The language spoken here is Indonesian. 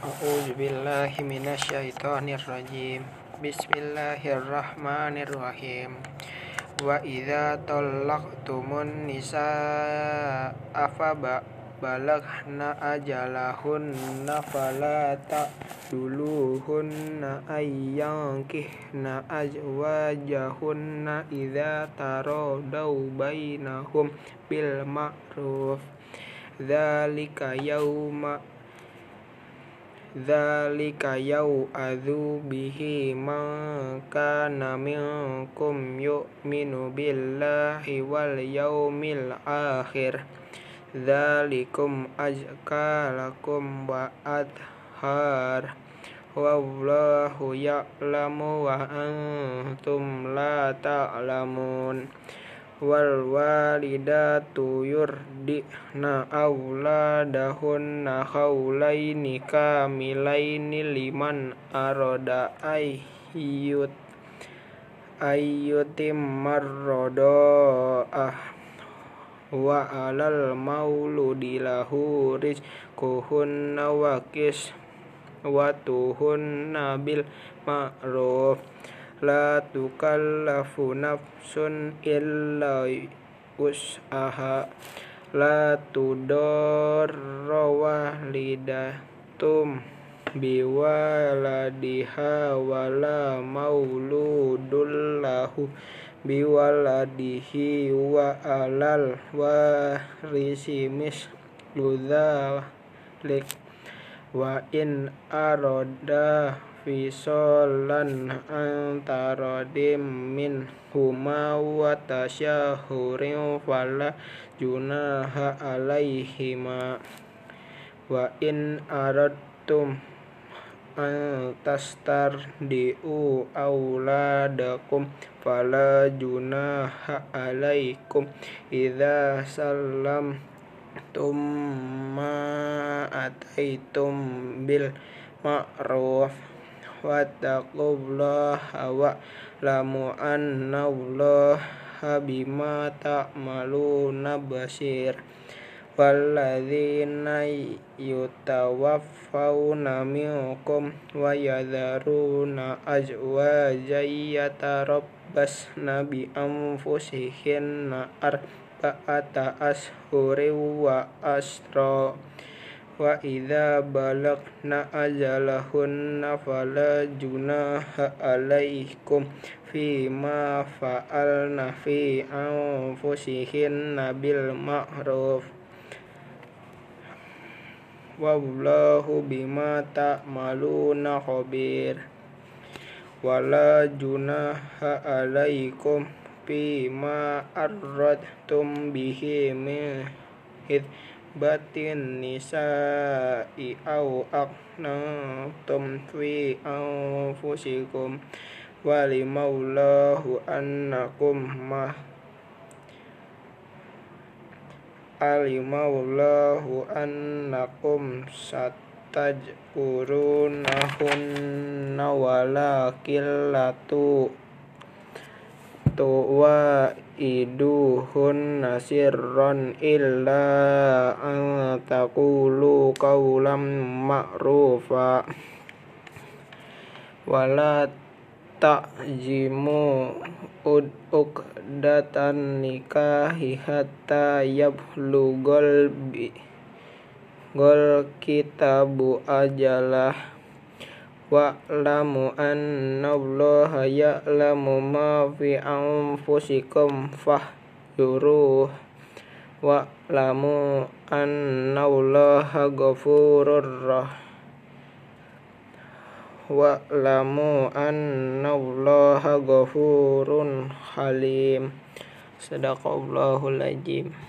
A'udzu billahi minasyaitonir rajim. Bismillahirrahmanirrahim. Wa idza talaqtumun nisaa fa balaghna ajalahunna fala ta'duluhunna ayyankihna azwajahunna idza taradaw bainahum bil ma'ruf. Dzalika yau'adzu bihi man kana minkum yu'minu billahi wal yaumil akhir. Dzalikum azka lakum wa athhar. Wallahu ya'lamu wa antum la ta'lamun. Wal walidatu yurdi'na auladahunna haulaini kamilaini liman arada ayyutimmar rada'ah wa alal mauludi lahu rizquhunna wa kiswatuhunna bil ma'ruf. La tukallafu nafsun illa wus'aha. La tudarra walidatum biwaladiha wala mauludun lahu biwaladihi wa alal warisi mislu dzalik wa in arada fisolan antaradim minhuma wa tasyahurin fala junaha alaihima. Wa in aradtum an tastardi'u auladakum fala junaha alaikum idza sallamtum ma ataitum bil ma'ruf. Wattaqullaha wa'lamu annallaha bima ta'maluna basir. Walladzina yutawaffawna minkum wa yadharuna azwajan yatarabbasna bi anfusihinna arba'ata ashhurin wa ashra. Wa idza balagna ajalahunna fala junaha alaikum fima fa'alna fi anfusihinna bil ma'ruf. Wallahu bima ta'maluna khabir. Wala junaha alaikum fima arradtum bihi min batin nisa'i au aqnatum fi anfusikum walimaulahu annakum satajkurunahunna walakin latu tuwaiduhunna sirran illa an taqulu qawlan ma'rufa wala ta'zimu uqdatan nikahi hatta yablughal kitabu ajalah. Wa'lamu annallaha ya'lamu ma fi anfusikum fahdhuruh. Wa'lamu annallaha ghafurur rahim. Wa'lamu annallaha ghafurun halim. Shadaqallahul azim.